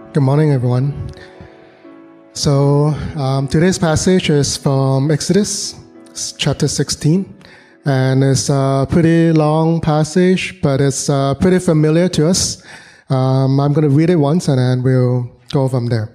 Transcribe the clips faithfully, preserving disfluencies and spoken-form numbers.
Good morning, everyone. So um, today's passage is from Exodus chapter sixteen, and it's a pretty long passage, but it's uh, pretty familiar to us. Um, I'm going to read it once, and then we'll go from there.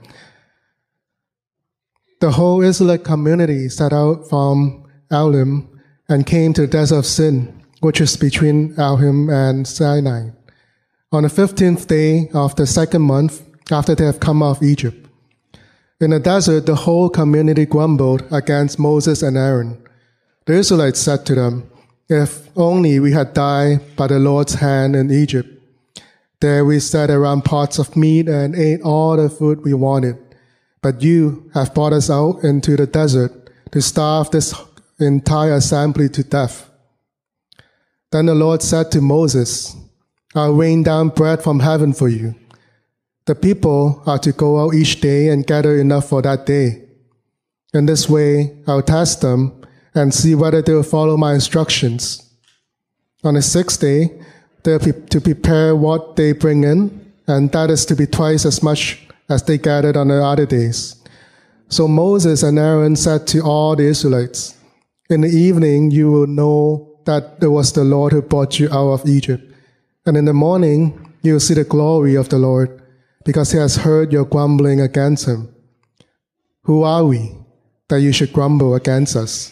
The whole Israelite community set out from Elim and came to the desert of Sin, which is between Elim and Sinai, on the fifteenth day of the second month after they have come out of Egypt. In the desert, the whole community grumbled against Moses and Aaron. The Israelites said to them, "If only we had died by the Lord's hand in Egypt. There we sat around pots of meat and ate all the food we wanted. But you have brought us out into the desert to starve this entire assembly to death." Then the Lord said to Moses, "I'll rain down bread from heaven for you. The people are to go out each day and gather enough for that day. In this way, I'll test them and see whether they will follow my instructions. On the sixth day, they're to prepare what they bring in, and that is to be twice as much as they gathered on the other days." So Moses and Aaron said to all the Israelites, "In the evening you will know that it was the Lord who brought you out of Egypt. And in the morning you will see the glory of the Lord, because he has heard your grumbling against him. Who are we that you should grumble against us?"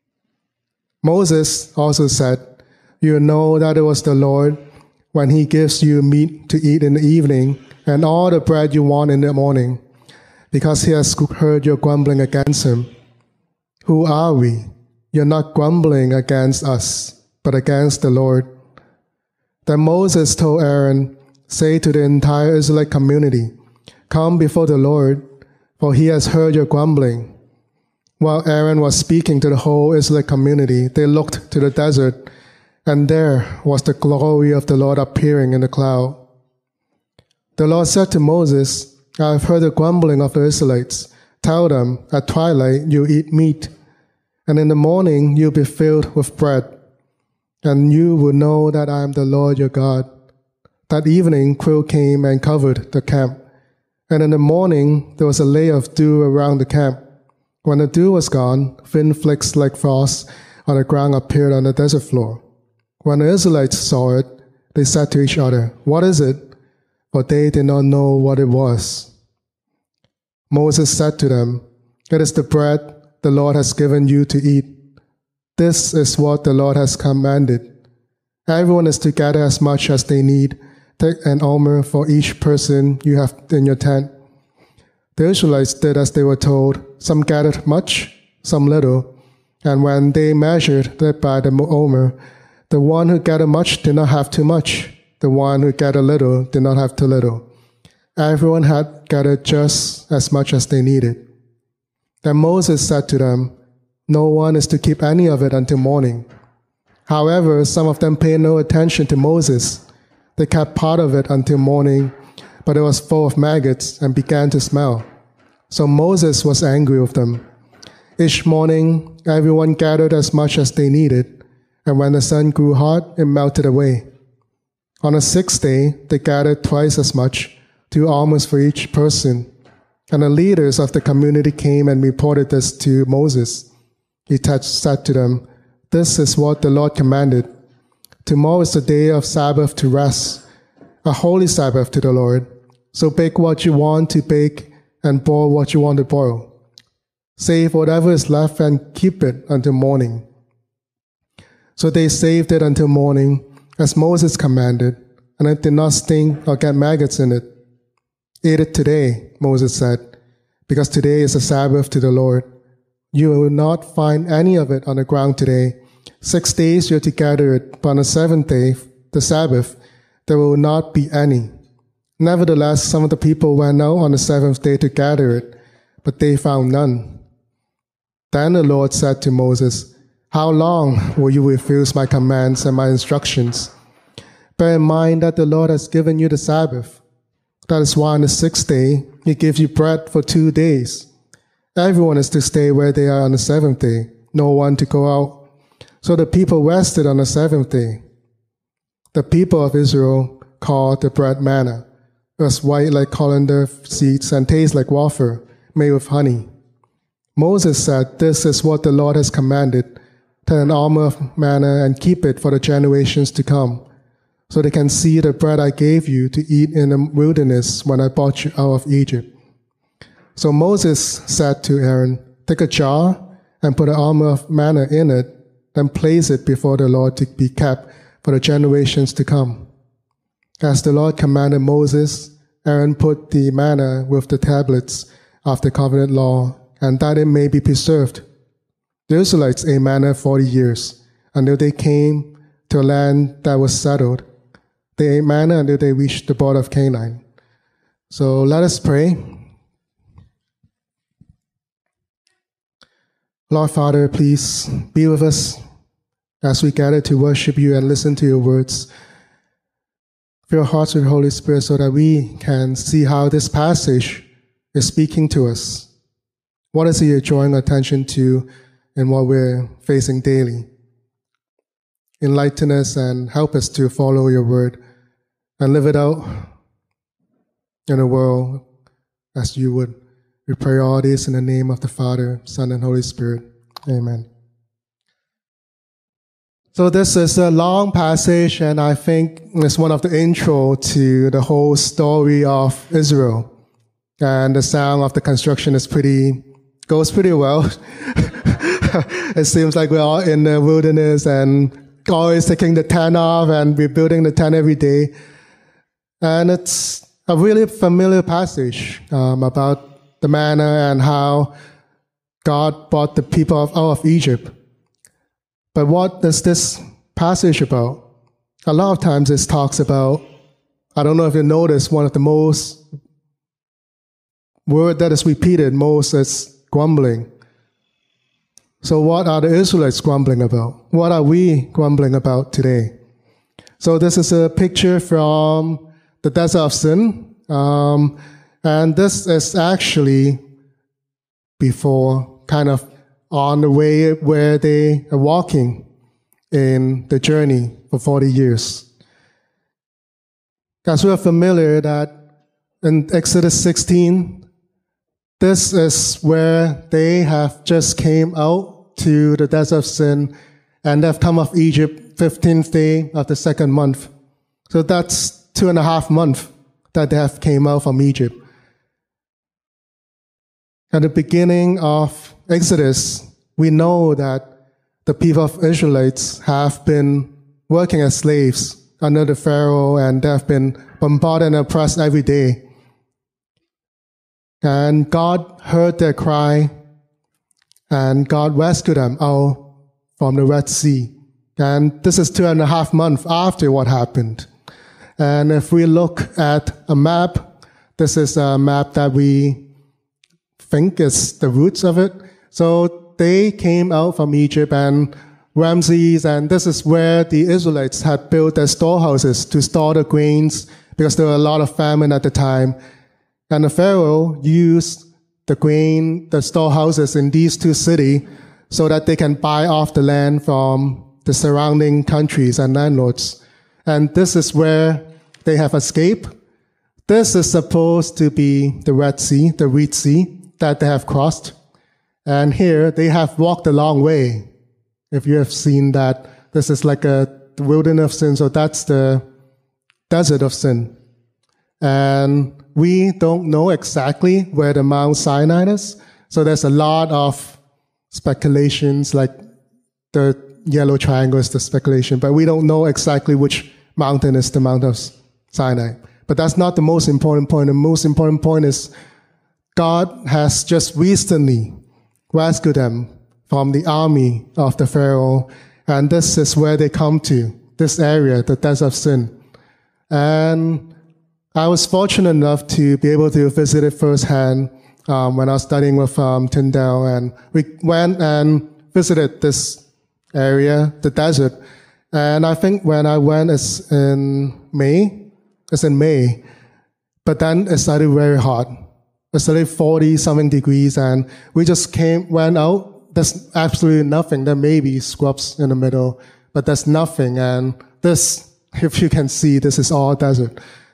Moses also said, "You will know that it was the Lord when he gives you meat to eat in the evening and all the bread you want in the morning, because he has heard your grumbling against him. Who are we? You're not grumbling against us, but against the Lord." Then Moses told Aaron, "Say to the entire Israelite community, 'Come before the Lord, for he has heard your grumbling.'" While Aaron was speaking to the whole Israelite community, they looked to the desert, and there was the glory of the Lord appearing in the cloud. The Lord said to Moses, "I have heard the grumbling of the Israelites. Tell them, at twilight you eat meat, and in the morning you'll be filled with bread, and you will know that I am the Lord your God." That evening quail came and covered the camp, and in the morning there was a layer of dew around the camp. When the dew was gone, thin flakes like frost on the ground appeared on the desert floor. When the Israelites saw it, they said to each other, "What is it?" For they did not know what it was. Moses said to them, "It is the bread the Lord has given you to eat. This is what the Lord has commanded. Everyone is to gather as much as they need. Take an omer for each person you have in your tent." The Israelites did as they were told. Some gathered much, some little. And when they measured it by the omer, the one who gathered much did not have too much. The one who gathered little did not have too little. Everyone had gathered just as much as they needed. Then Moses said to them, "No one is to keep any of it until morning." However, some of them paid no attention to Moses. They kept part of it until morning, but it was full of maggots and began to smell. So Moses was angry with them. Each morning, everyone gathered as much as they needed, and when the sun grew hot, it melted away. On the sixth day, they gathered twice as much, two almonds for each person. And the leaders of the community came and reported this to Moses. He said to them, "This is what the Lord commanded. Tomorrow is the day of Sabbath to rest, a holy Sabbath to the Lord. So bake what you want to bake and boil what you want to boil. Save whatever is left and keep it until morning." So they saved it until morning, as Moses commanded, and it did not stink or get maggots in it. "Eat it today," Moses said, "because today is a Sabbath to the Lord. You will not find any of it on the ground today. Six days you are to gather it, but on the seventh day, the Sabbath, there will not be any." Nevertheless, some of the people went out on the seventh day to gather it, but they found none. Then the Lord said to Moses, "How long will you refuse my commands and my instructions? Bear in mind that the Lord has given you the Sabbath. That is why on the sixth day he gives you bread for two days. Everyone is to stay where they are on the seventh day, no one to go out." So the people rested on the seventh day. The people of Israel called the bread manna. was white like coriander seeds and tastes like wafer made with honey. Moses said, "This is what the Lord has commanded. Turn an almond of manna and keep it for the generations to come, so they can see the bread I gave you to eat in the wilderness when I brought you out of Egypt." So Moses said to Aaron, "Take a jar and put an almond of manna in it, and place it before the Lord to be kept for the generations to come." As the Lord commanded Moses, Aaron put the manna with the tablets of the covenant law, and that it may be preserved. The Israelites ate manna forty years, until they came to a land that was settled. They ate manna until they reached the border of Canaan. So let us pray. Lord Father, please be with us as we gather to worship you and listen to your words. Fill our hearts with the Holy Spirit so that we can see how this passage is speaking to us. What is it you're drawing attention to in what we're facing daily? Enlighten us and help us to follow your word and live it out in the world as you would. We pray all this in the name of the Father, Son, and Holy Spirit. Amen. So this is a long passage, and I think it's one of the intro to the whole story of Israel. And the sound of the construction is pretty, goes pretty well. It seems like we're all in the wilderness and always taking the tent off and rebuilding the tent every day. And it's a really familiar passage um, about the manna and how God brought the people out of Egypt. But what is this passage about? A lot of times it talks about, I don't know if you noticed, one of the most word that is repeated most is grumbling. So what are the Israelites grumbling about? What are we grumbling about today? So this is a picture from the Desert of Sin. Um, and this is actually before, kind of on the way where they are walking in the journey for forty years. As we are familiar that in Exodus sixteen, this is where they have just came out to the Desert of Sin, and they've come off Egypt fifteenth day of the second month. So that's two and a half months that they have came out from Egypt. At the beginning of Exodus, we know that the people of Israelites have been working as slaves under the Pharaoh, and they have been bombarded and oppressed every day. And God heard their cry, and God rescued them out from the Red Sea. And this is two and a half months after what happened. And if we look at a map, this is a map that we think is the roots of it. So they came out from Egypt and Ramses, and this is where the Israelites had built their storehouses to store the grains because there were a lot of famine at the time. And the Pharaoh used the grain, the storehouses in these two cities so that they can buy off the land from the surrounding countries and landlords. And this is where they have escaped. This is supposed to be the Red Sea, the Reed Sea that they have crossed. And here they have walked a long way. If you have seen that, this is like a wilderness of sin, so that's the desert of sin. And we don't know exactly where the Mount Sinai is, so there's a lot of speculations, like the yellow triangle is the speculation, but we don't know exactly which mountain is the Mount of Sinai. But that's not the most important point. The most important point is God has just recently rescued them from the army of the Pharaoh, and this is where they come to, this area, the Desert of Sin. And I was fortunate enough to be able to visit it firsthand um, when I was studying with um, Tyndale, and we went and visited this area, the desert. And I think when I went, it's in May, it's in May, but then it started very hot. It started forty something degrees, and we just came, went out. There's absolutely nothing. There may be scrubs in the middle, but there's nothing. And this, if you can see, this is all desert.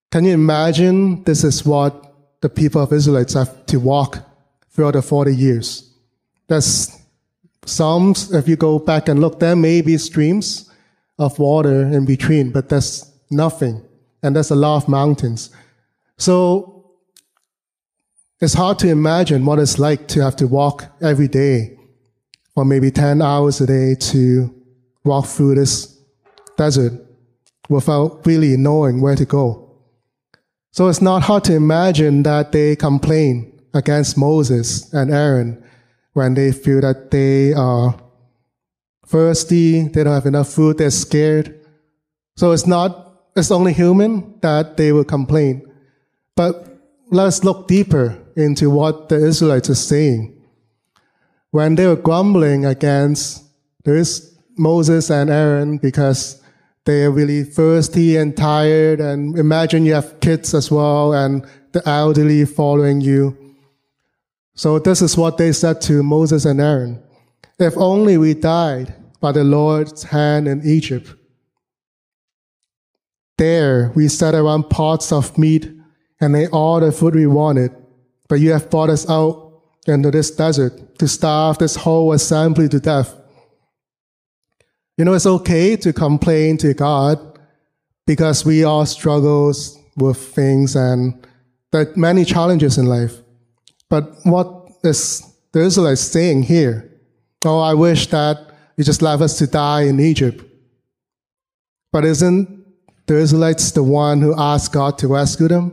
Can you imagine this is what the people of Israelites have to walk throughout the forty years? There's some, if you go back and look, there may be streams of water in between, but there's nothing. And there's a lot of mountains. So it's hard to imagine what it's like to have to walk every day for maybe ten hours a day to walk through this desert without really knowing where to go. So it's not hard to imagine that they complain against Moses and Aaron when they feel that they are thirsty, they don't have enough food, they're scared. So it's not, it's only human that they will complain. But let's look deeper into what the Israelites are saying. When they were grumbling against this Moses and Aaron because they are really thirsty and tired, and imagine you have kids as well and the elderly following you. So this is what they said to Moses and Aaron. If only we died by the Lord's hand in Egypt. There we sat around pots of meat and ate all the food we wanted. But you have brought us out into this desert to starve this whole assembly to death. You know, it's okay to complain to God because we all struggle with things and there are many challenges in life. But what is the Israelites saying here? Oh, I wish that you just left us to die in Egypt. But isn't the Israelites the one who asked God to rescue them?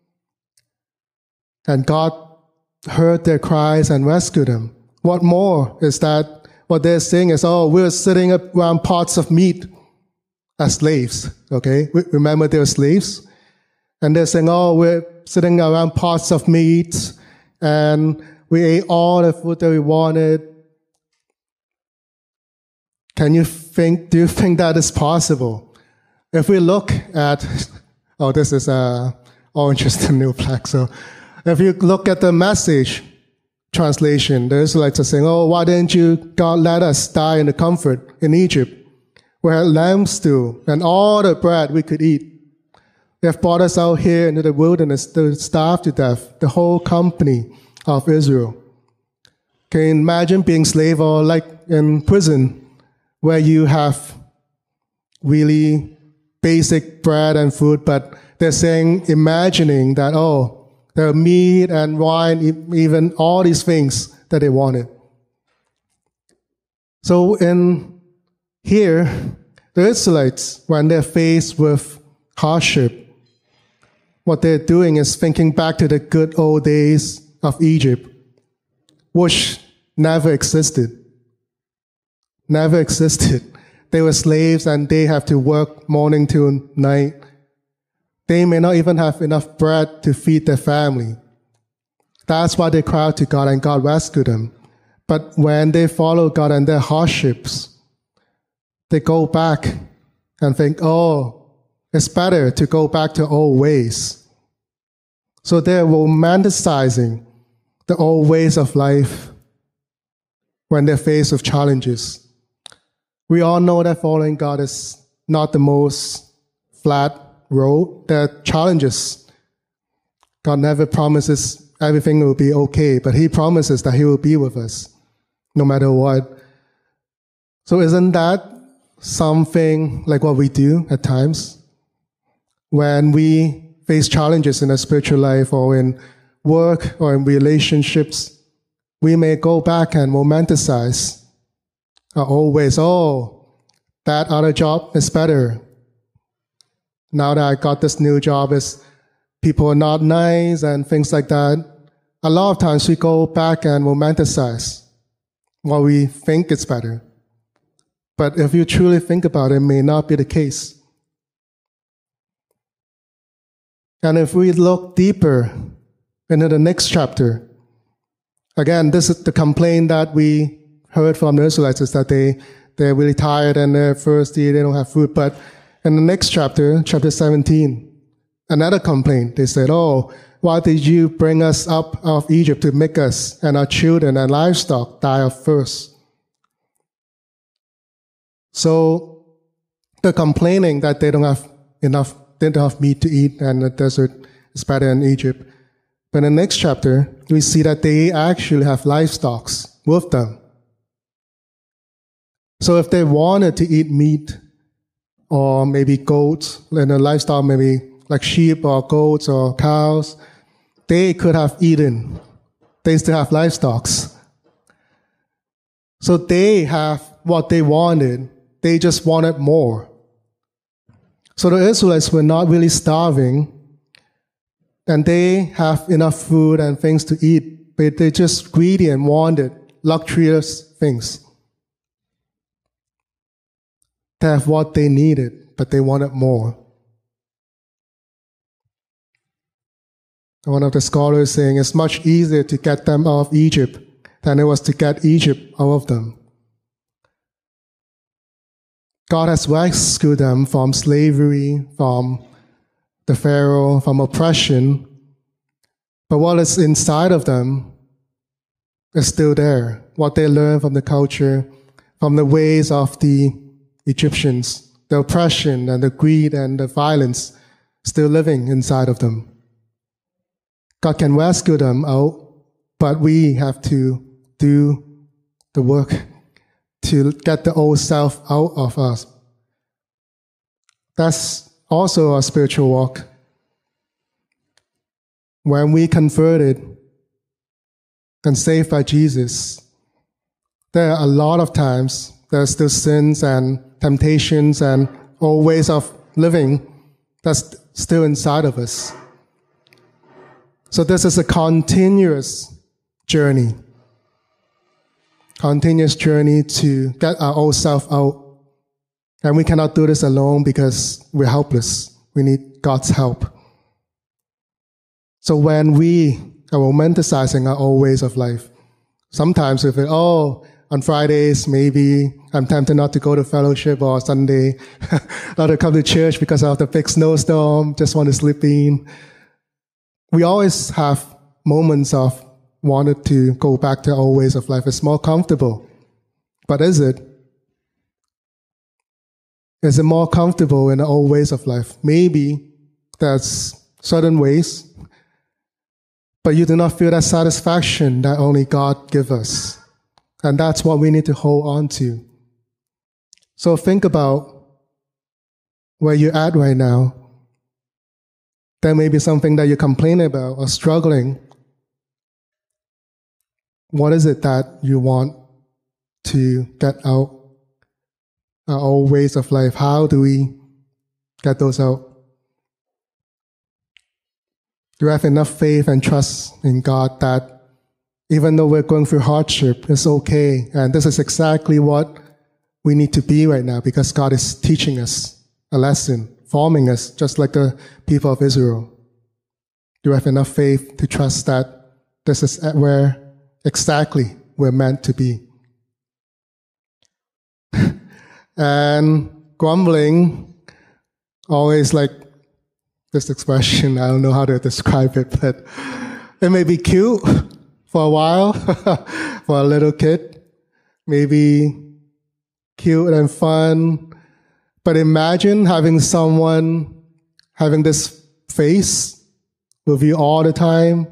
And God heard their cries and rescued them. What more is that what they're saying is, oh, we're sitting around pots of meat as slaves, okay? Remember they were slaves? And they're saying, oh, we're sitting around pots of meat and we ate all the food that we wanted. Can you think, do you think that is possible? If we look at, oh, this is a Orange is the New Black, so if you look at the Message translation, the Israelites are saying, oh, why didn't you, God, let us die in the comfort in Egypt? We had lamb stew and all the bread we could eat. They have brought us out here into the wilderness to starve to death, the whole company of Israel. Can you imagine being slave or like in prison where you have really basic bread and food, but they're saying, imagining that, oh, there are meat and wine, even all these things that they wanted. So in here, the Israelites, when they're faced with hardship, what they're doing is thinking back to the good old days of Egypt, which never existed. Never existed. They were slaves and they have to work morning to night. They may not even have enough bread to feed their family. That's why they cry out to God and God rescued them. But when they follow God and their hardships, they go back and think, oh, it's better to go back to old ways. So they're romanticizing the old ways of life when they're faced with challenges. We all know that following God is not the most flat road. There are challenges. God never promises everything will be okay, but He promises that He will be with us no matter what. So isn't that something like what we do at times? When we face challenges in our spiritual life or in work or in relationships, we may go back and romanticize our old ways. Oh, that other job is better. Now that I got this new job, is people are not nice and things like that. A lot of times we go back and romanticize what we think is better. But if you truly think about it, it may not be the case. And if we look deeper into the next chapter, again, this is the complaint that we heard from the Israelites, is that they, they're really tired and they're thirsty, they don't have food. But in the next chapter, chapter seventeen, another complaint. They said, oh, why did you bring us up out of Egypt to make us and our children and livestock die of thirst? So they're complaining that they don't have enough didn't have meat to eat, and the desert is better than Egypt. But in the next chapter, we see that they actually have livestock with them. So if they wanted to eat meat, or maybe goats, and the livestock maybe like sheep or goats or cows, they could have eaten. They still have livestock. So they have what they wanted. They just wanted more. So the Israelites were not really starving, and they have enough food and things to eat, but they just greedy and wanted luxurious things. They have what they needed, but they wanted more. One of the scholars saying it's much easier to get them out of Egypt than it was to get Egypt out of them. God has rescued them from slavery, from the Pharaoh, from oppression, but what is inside of them is still there. What they learned from the culture, from the ways of the Egyptians, the oppression and the greed and the violence still living inside of them. God can rescue them out, but we have to do the work to get the old self out of us. That's also a spiritual walk. When we converted and saved by Jesus, there are a lot of times there's still sins and temptations and old ways of living that's still inside of us. So this is a continuous journey. Continuous journey to get our old self out. And we cannot do this alone because we're helpless. We need God's help. So when we are romanticizing our old ways of life, sometimes we feel, oh, on Fridays, maybe I'm tempted not to go to fellowship, or Sunday, not to come to church because of the big snowstorm, just want to sleep in. We always have moments of wanted to go back to our old ways of life. It's more comfortable. But is it? Is it more comfortable in the old ways of life? Maybe there's certain ways, but you do not feel that satisfaction that only God gives us. And that's what we need to hold on to. So think about where you're at right now. There may be something that you complain about or struggling. What is it that you want to get out? Our old ways of life. How do we get those out? Do we have enough faith and trust in God that even though we're going through hardship, it's okay? And this is exactly what we need to be right now, because God is teaching us a lesson, forming us just like the people of Israel. Do we have enough faith to trust that this is where exactly we're meant to be? And grumbling, always like this expression, I don't know how to describe it, but it may be cute for a while, for a little kid, maybe cute and fun, but imagine having someone having this face with you all the time.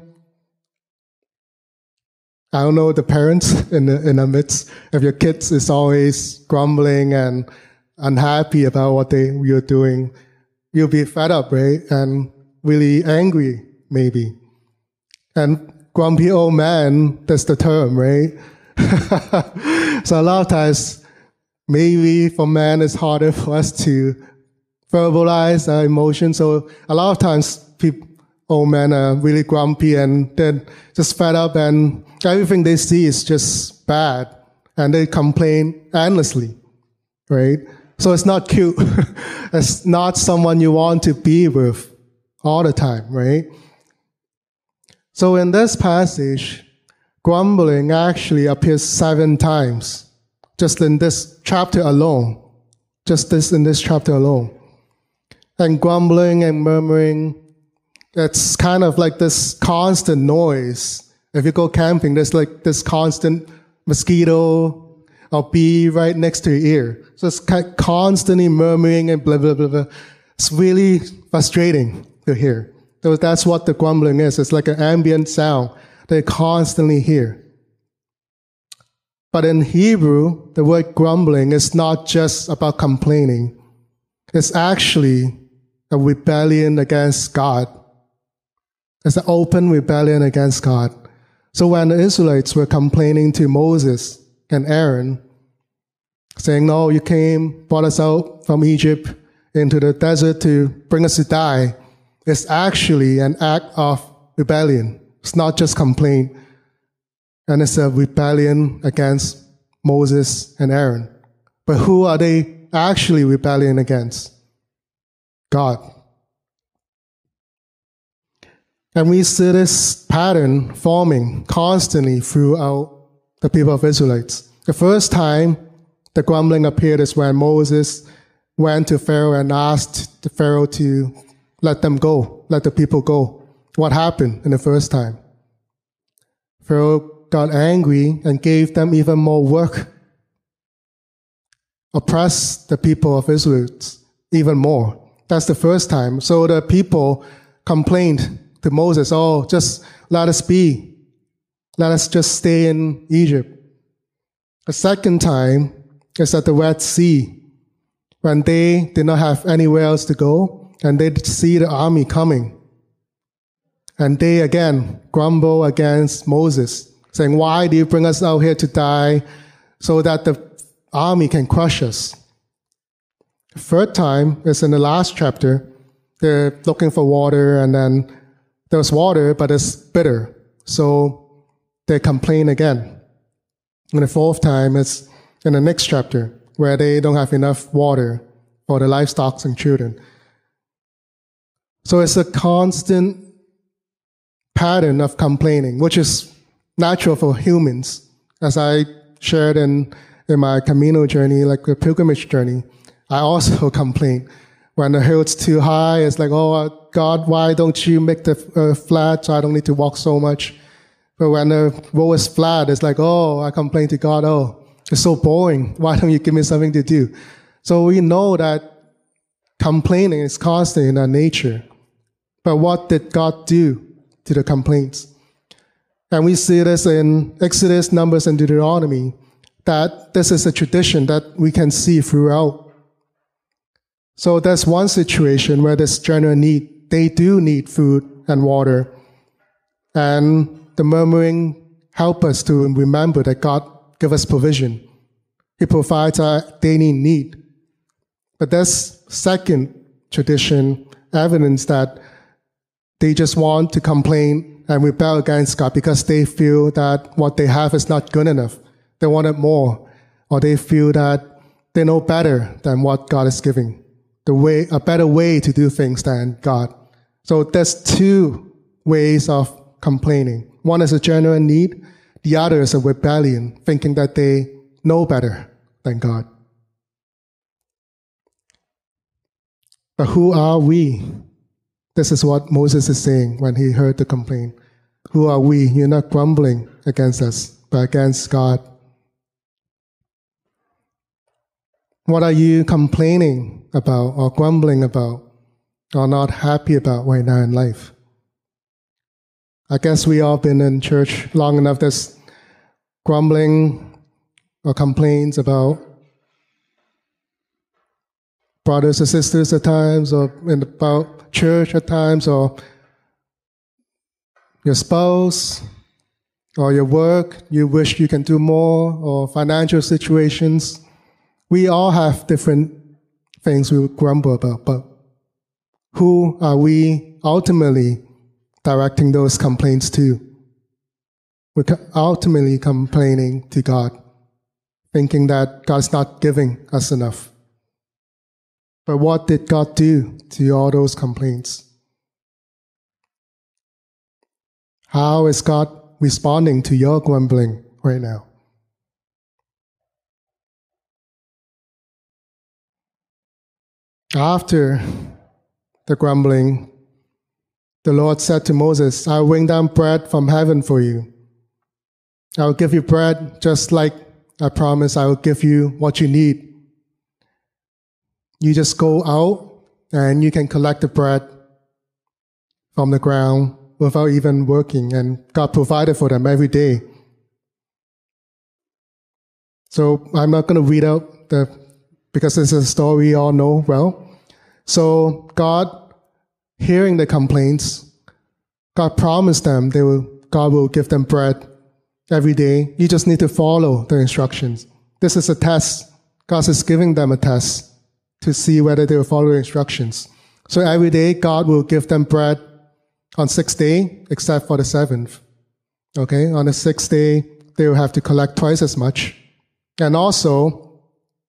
I don't know, the parents in the, in the midst of your kids is always grumbling and unhappy about what they you're doing. You'll be fed up, right? And really angry, maybe. And grumpy old man, that's the term, right? So a lot of times, maybe for men, it's harder for us to verbalize our emotions. So a lot of times, people, old men are really grumpy and then just fed up, and everything they see is just bad, and they complain endlessly, right? So it's not cute. It's not someone you want to be with all the time, right? So in this passage, grumbling actually appears seven times, just in this chapter alone, just this in this chapter alone. And grumbling and murmuring, it's kind of like this constant noise. If you go camping, there's like this constant mosquito or bee right next to your ear. So it's constantly murmuring and blah, blah, blah, blah. It's really frustrating to hear. So that's what the grumbling is. It's like an ambient sound they constantly hear. But in Hebrew, the word grumbling is not just about complaining. It's actually a rebellion against God. It's an open rebellion against God. So when the Israelites were complaining to Moses and Aaron, saying, no, you came, brought us out from Egypt into the desert to bring us to die, it's actually an act of rebellion. It's not just complaint. And it's a rebellion against Moses and Aaron. But who are they actually rebelling against? God. And we see this pattern forming constantly throughout the people of Israelites. The first time the grumbling appeared is when Moses went to Pharaoh and asked the Pharaoh to let them go, let the people go. What happened in the first time? Pharaoh got angry and gave them even more work, oppressed the people of Israel even more. That's the first time. So the people complained to Moses, oh, just let us be. Let us just stay in Egypt. The second time is at the Red Sea, when they did not have anywhere else to go, and they see the army coming. And they again grumble against Moses, saying, why do you bring us out here to die so that the army can crush us? The third time is in the last chapter. They're looking for water, and then there's water, but it's bitter. So they complain again. And the fourth time is in the next chapter, where they don't have enough water for the livestock and children. So it's a constant pattern of complaining, which is natural for humans. As I shared in, in my Camino journey, like the pilgrimage journey, I also complain. When the hill's too high, it's like, oh, God, why don't you make the earth flat so I don't need to walk so much? But when the road is flat, it's like, oh, I complain to God, oh, it's so boring. Why don't you give me something to do? So we know that complaining is constant in our nature. But what did God do to the complaints? And we see this in Exodus, Numbers, and Deuteronomy, that this is a tradition that we can see throughout. So there's one situation where there's general need. They do need food and water. And the murmuring help us to remember that God gives us provision. He provides our daily need. But there's second tradition, evidence that they just want to complain and rebel against God because they feel that what they have is not good enough. They want it more. Or they feel that they know better than what God is giving. The way, a better way to do things than God. So there's two ways of complaining. One is a genuine need. The other is a rebellion, thinking that they know better than God. But who are we? This is what Moses is saying when he heard the complaint. Who are we? You're not grumbling against us, but against God. What are you complaining about or grumbling about or not happy about right now in life? I guess we all been in church long enough that's grumbling or complaints about brothers and sisters at times, or about church at times, or your spouse, or your work, you wish you can do more, or financial situations. We all have different things we grumble about, but who are we ultimately directing those complaints to? We're ultimately complaining to God, thinking that God's not giving us enough. But what did God do to all those complaints? How is God responding to your grumbling right now? After the grumbling, the Lord said to Moses, I will bring down bread from heaven for you. I will give you bread just like I promised I will give you what you need. You just go out and you can collect the bread from the ground without even working, and God provided for them every day. So I'm not going to read out the, because this is a story you all know well. So God, hearing the complaints, God promised them they will, God will give them bread every day. You just need to follow the instructions. This is a test. God is giving them a test to see whether they will follow the instructions. So every day God will give them bread on sixth day, except for the seventh. Okay, on the sixth day, they will have to collect twice as much. And also,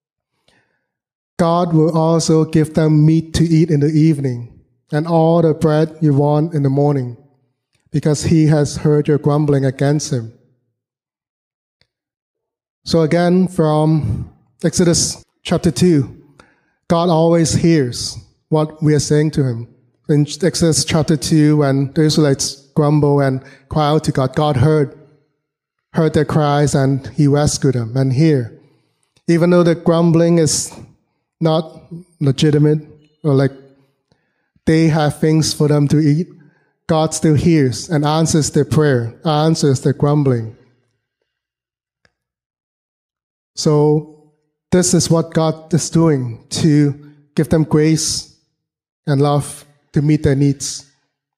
God will also give them meat to eat in the evening, and all the bread you want in the morning, because He has heard your grumbling against Him. So again, from Exodus chapter two, God always hears what we are saying to Him. In Exodus chapter two, when the Israelites grumble and cry out to God, God heard, heard their cries and He rescued them. And here, even though the grumbling is not legitimate, or like they have things for them to eat, God still hears and answers their prayer, answers their grumbling. So this is what God is doing to give them grace and love to meet their needs.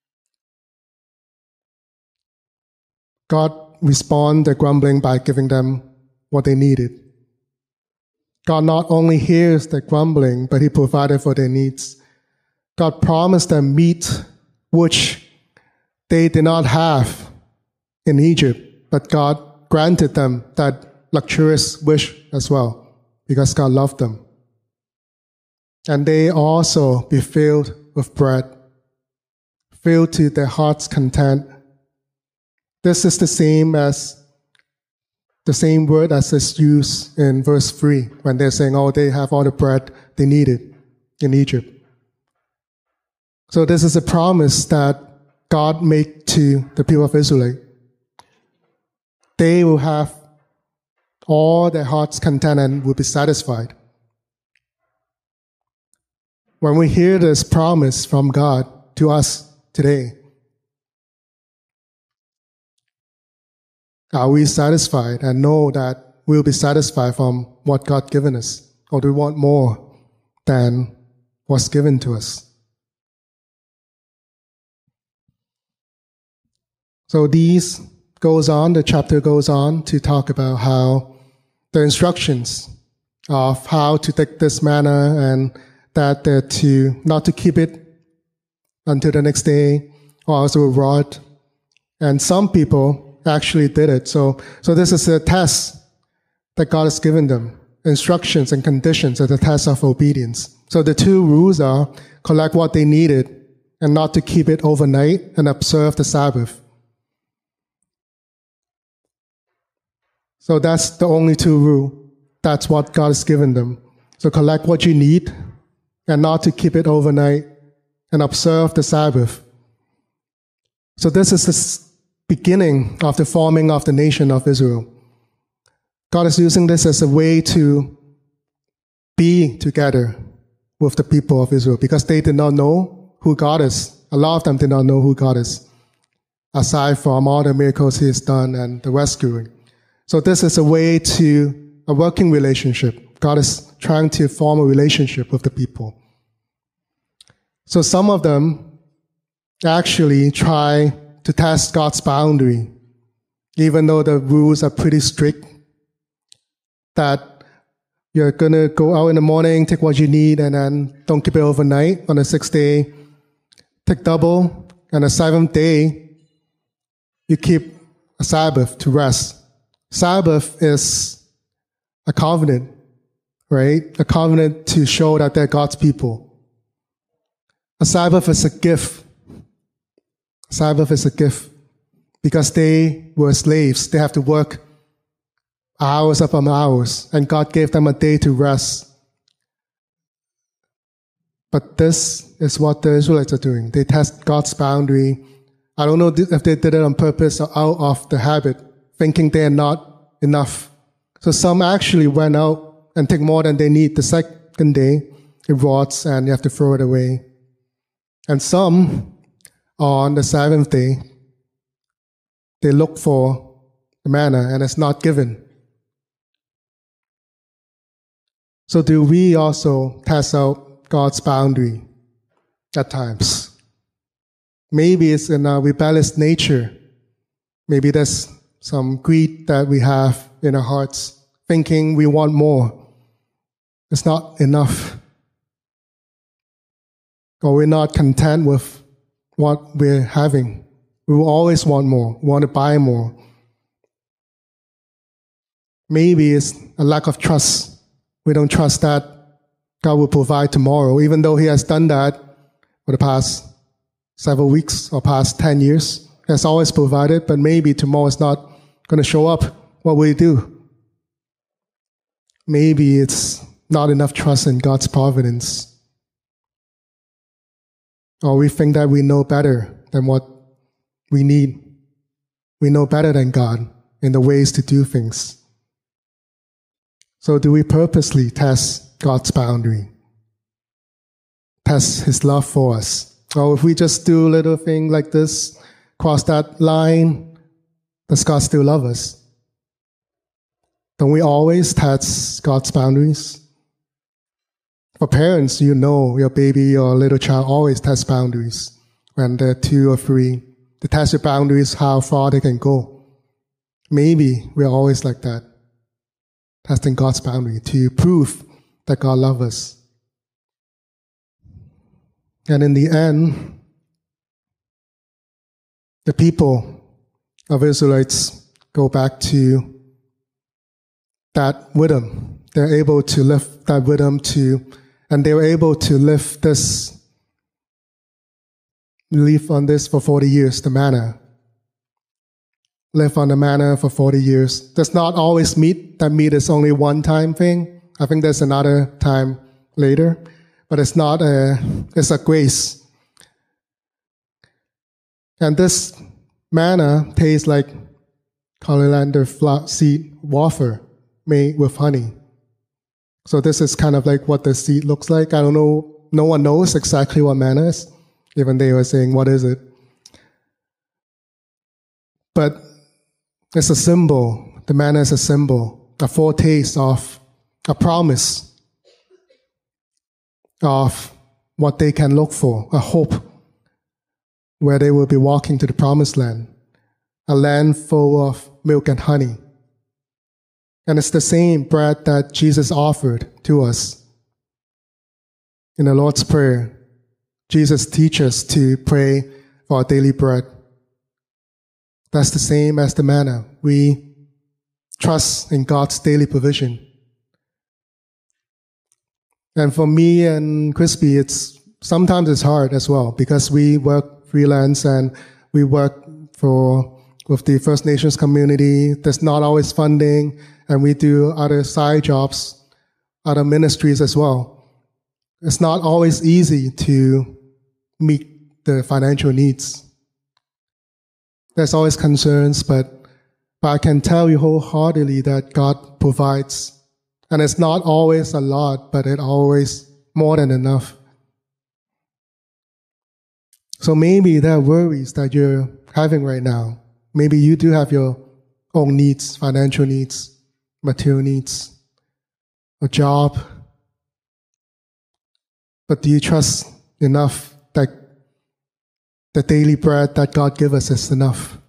God responded their grumbling by giving them what they needed. God not only hears their grumbling, but He provided for their needs. God promised them meat which they did not have in Egypt, but God granted them that luxurious wish as well, because God loved them. And they also be filled with bread, filled to their heart's content. This is the same as the same word as is used in verse three, when they're saying, oh, they have all the bread they needed in Egypt. So this is a promise that God made to the people of Israel. They will have all their heart's content and will be satisfied. When we hear this promise from God to us today, are we satisfied and know that we'll be satisfied from what God given us? Or do we want more than what's given to us? So these goes on, the chapter goes on to talk about how the instructions of how to take this manna, and that they're to not to keep it until the next day, or also rot. And some people actually did it. So, so this is a test that God has given them. Instructions and conditions are the test of obedience. So the two rules are collect what they needed and not to keep it overnight, and observe the Sabbath. So that's the only two rules. That's what God has given them. So collect what you need and not to keep it overnight, and observe the Sabbath. So this is the beginning of the forming of the nation of Israel. God is using this as a way to be together with the people of Israel, because they did not know who God is. A lot of them did not know who God is, aside from all the miracles He has done and the rescuing. So this is a way to a working relationship. God is trying to form a relationship with the people. So some of them actually try to test God's boundary, even though the rules are pretty strict, that you're going to go out in the morning, take what you need, and then don't keep it overnight. On the sixth day, take double. And the seventh day, you keep a Sabbath to rest. Sabbath is a covenant, right? A covenant to show that they're God's people. A Sabbath is a gift. A Sabbath is a gift because they were slaves. They have to work hours upon hours, and God gave them a day to rest. But this is what the Israelites are doing. They test God's boundary. I don't know if they did it on purpose or out of the habit, thinking they are not enough. So some actually went out and took more than they need the second day, it rots and you have to throw it away. And some, on the seventh day, they look for the manna and it's not given. So do we also test out God's boundary at times? Maybe it's in our rebellious nature. Maybe there's some greed that we have in our hearts, thinking we want more. It's not enough. Or we're not content with what we're having. We will always want more, want to buy more. Maybe it's a lack of trust. We don't trust that God will provide tomorrow, even though He has done that for the past several weeks or past ten years. He has always provided, but maybe tomorrow is not going to show up. What will we do? Maybe it's not enough trust in God's providence. Or we think that we know better than what we need. We know better than God in the ways to do things. So do we purposely test God's boundary? Test His love for us? Or if we just do a little thing like this, cross that line, does God still love us? Don't we always test God's boundaries? For parents, you know your baby or little child always tests boundaries when they're two or three. They test your boundaries, how far they can go. Maybe we're always like that, testing God's boundary to prove that God loves us. And in the end, the people of Israelites go back to that rhythm. They're able to lift that rhythm to, and they were able to lift this, live on this for forty years, the manna. Live on the manna for forty years. Does not always meat. That meat is only one time thing. I think there's another time later. But it's not a, it's a grace. And this manna tastes like coriander seed wafer made with honey. So this is kind of like what the seed looks like. I don't know, no one knows exactly what manna is. Even they were saying, what is it? But it's a symbol. The manna is a symbol, a foretaste of a promise of what they can look for, a hope where they will be walking to the promised land, a land full of milk and honey. And it's the same bread that Jesus offered to us. In the Lord's Prayer, Jesus teaches us to pray for our daily bread. That's the same as the manna. We trust in God's daily provision. And for me and Crispy, it's sometimes it's hard as well because we work freelance and we work for with the First Nations community. There's not always funding, and we do other side jobs, other ministries as well. It's not always easy to meet the financial needs. There's always concerns, but, but I can tell you wholeheartedly that God provides. And it's not always a lot, but it's always more than enough. So maybe there are worries that you're having right now. Maybe you do have your own needs, financial needs, material needs, a job. But do you trust enough that the daily bread that God gives us is enough?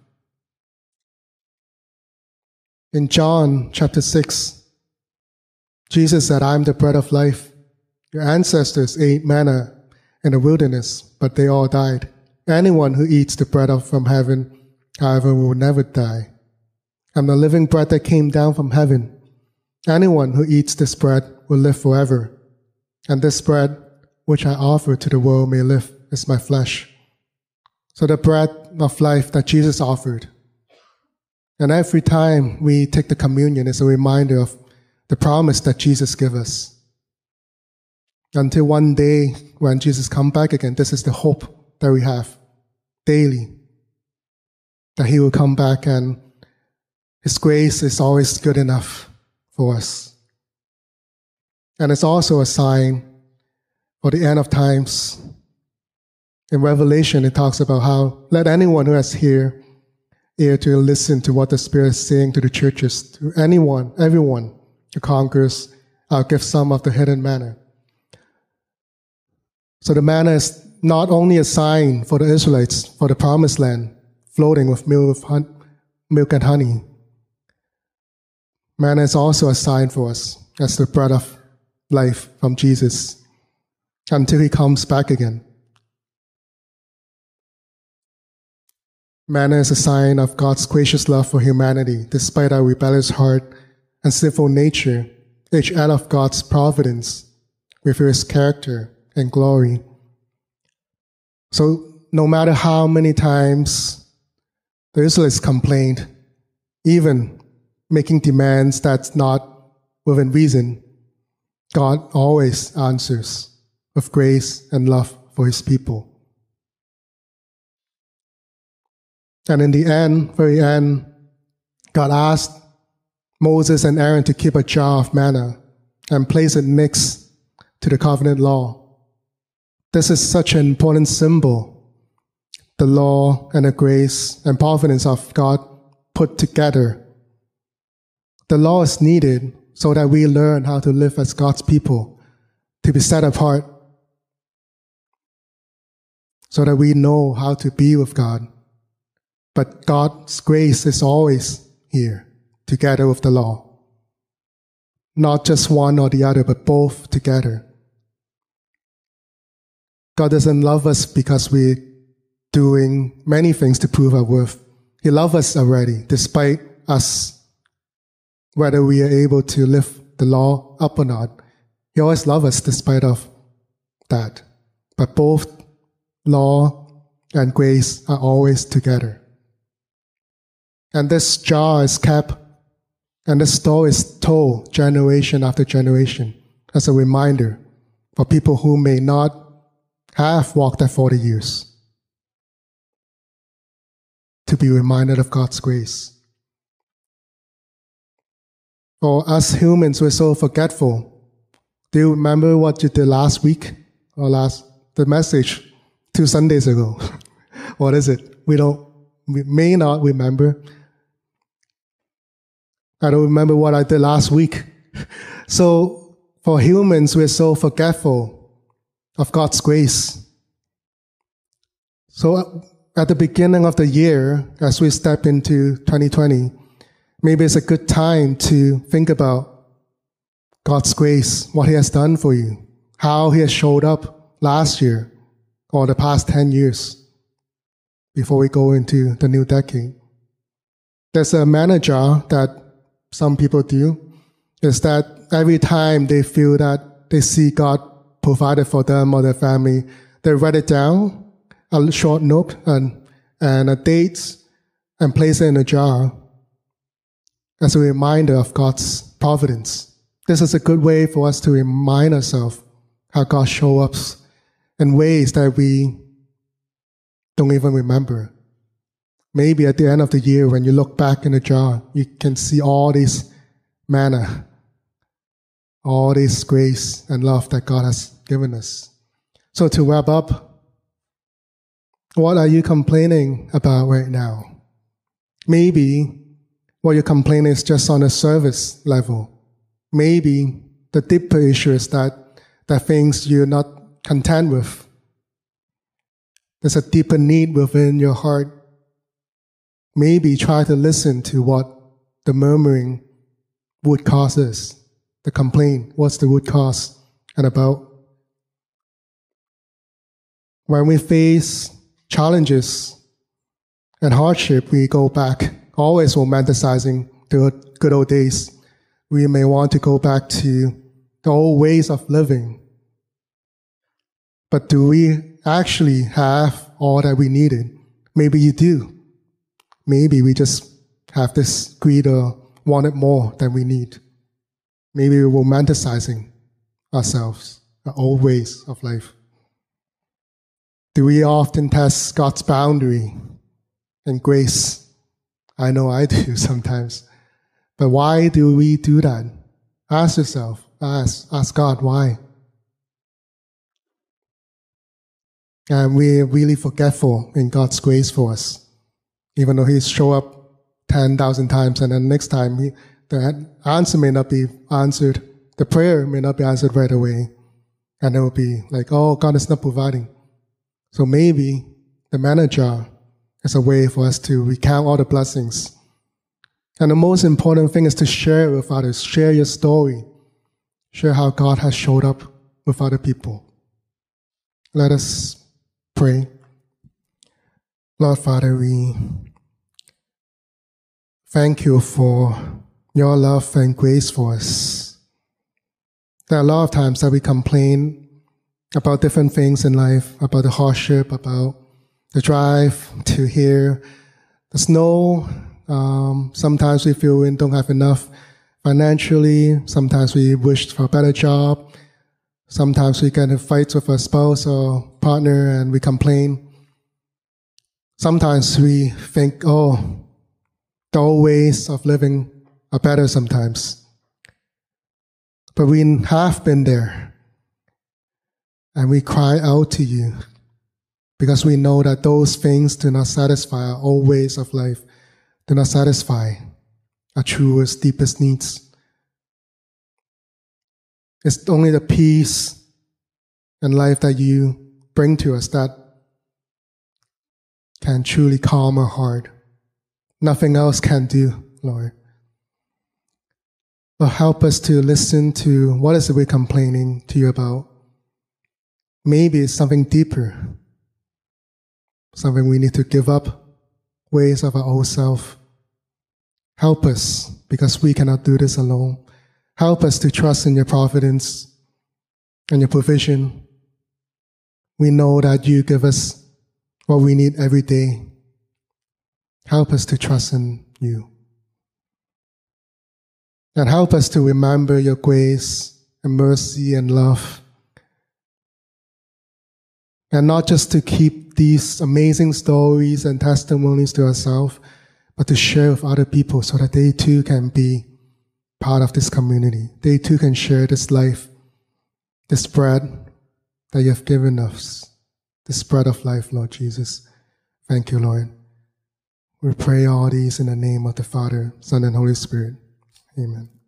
In John chapter six, Jesus said, I am the bread of life. Your ancestors ate manna in the wilderness, but they all died. Anyone who eats the bread from heaven, however, will never die. I'm the living bread that came down from heaven. Anyone who eats this bread will live forever. And this bread, which I offer to the world may live, is my flesh. So the bread of life that Jesus offered. And every time we take the communion, it's a reminder of the promise that Jesus gave us. Until one day when Jesus comes back again, this is the hope that we have daily. That He will come back and His grace is always good enough for us. And it's also a sign for the end of times. In Revelation, it talks about how let anyone who has ear, ear to listen to what the Spirit is saying to the churches, to anyone, everyone who conquers, I'll give some of the hidden manna. So the manna is not only a sign for the Israelites, for the promised land, floating with milk and honey. Manna is also a sign for us as the bread of life from Jesus until he comes back again. Manna is a sign of God's gracious love for humanity, despite our rebellious heart and sinful nature, each act of God's providence reveals his character and glory. So no matter how many times the Israelites complained, even making demands that's not within reason, God always answers with grace and love for his people. And in the end, very end, God asked Moses and Aaron to keep a jar of manna and place it next to the covenant law. This is such an important symbol, the law and the grace and providence of God put together. The law is needed so that we learn how to live as God's people, to be set apart, so that we know how to be with God. But God's grace is always here, together with the law. Not just one or the other, but both together. God doesn't love us because we're doing many things to prove our worth. He loves us already, despite us, whether we are able to live the law up or not. He always loves us despite of that. But both law and grace are always together. And this jar is kept, and this story is told generation after generation as a reminder for people who may not have walked that forty years, to be reminded of God's grace. For us humans, we're so forgetful. Do you remember what you did last week or last the message two Sundays ago? What is it? We don't. We may not remember. I don't remember what I did last week. So for humans, we're so forgetful of God's grace. So at the beginning of the year, as we step into twenty twenty, maybe it's a good time to think about God's grace, what he has done for you, how he has showed up last year or the past ten years before we go into the new decade. There's a manna jar that some people do, is that every time they feel that they see God provided for them or their family, they write it down, a short note and, and a date, and place it in a jar as a reminder of God's providence. This is a good way for us to remind ourselves how God shows up in ways that we don't even remember. Maybe at the end of the year, when you look back in the jar, you can see all this manna, all this grace and love that God has given us. So to wrap up, what are you complaining about right now? Maybe what you're complaining is just on a service level. Maybe the deeper issue is that there are things you're not content with. There's a deeper need within your heart. Maybe try to listen to what the murmuring would cause is, the complaint, what's the root cause and about. When we face challenges and hardship, we go back, always romanticizing the good old days. We may want to go back to the old ways of living. But do we actually have all that we needed? Maybe you do. Maybe we just have this greed or wanted more than we need. Maybe we're romanticizing ourselves, our old ways of life. Do we often test God's boundary and grace? I know I do sometimes. But why do we do that? Ask yourself, ask, ask God, why? And we're really forgetful in God's grace for us. Even though He show up ten thousand times, and then next time he, the answer may not be answered, the prayer may not be answered right away. And it will be like, oh, God is not providing. So maybe the manager is a way for us to recount all the blessings. And the most important thing is to share it with others. Share your story. Share how God has showed up with other people. Let us pray. Lord Father, we thank you for your love and grace for us. There are a lot of times that we complain about different things in life, about the hardship, about the drive to here, the snow. Um, sometimes we feel we don't have enough financially. Sometimes we wish for a better job. Sometimes we get in fights with a spouse or partner and we complain. Sometimes we think, oh, the old ways of living are better sometimes. But we have been there. And we cry out to you because we know that those things do not satisfy our old ways of life, do not satisfy our truest, deepest needs. It's only the peace and life that you bring to us that can truly calm our heart. Nothing else can do, Lord. Lord, help us to listen to what is it we're complaining to you about. Maybe it's something deeper, something we need to give up, ways of our old self. Help us, because we cannot do this alone. Help us to trust in your providence and your provision. We know that you give us what we need every day. Help us to trust in you. And help us to remember your grace and mercy and love. And not just to keep these amazing stories and testimonies to ourselves, but to share with other people so that they too can be part of this community. They too can share this life, this bread that you have given us, this bread of life, Lord Jesus. Thank you, Lord. We pray all these in the name of the Father, Son, and Holy Spirit. Amen.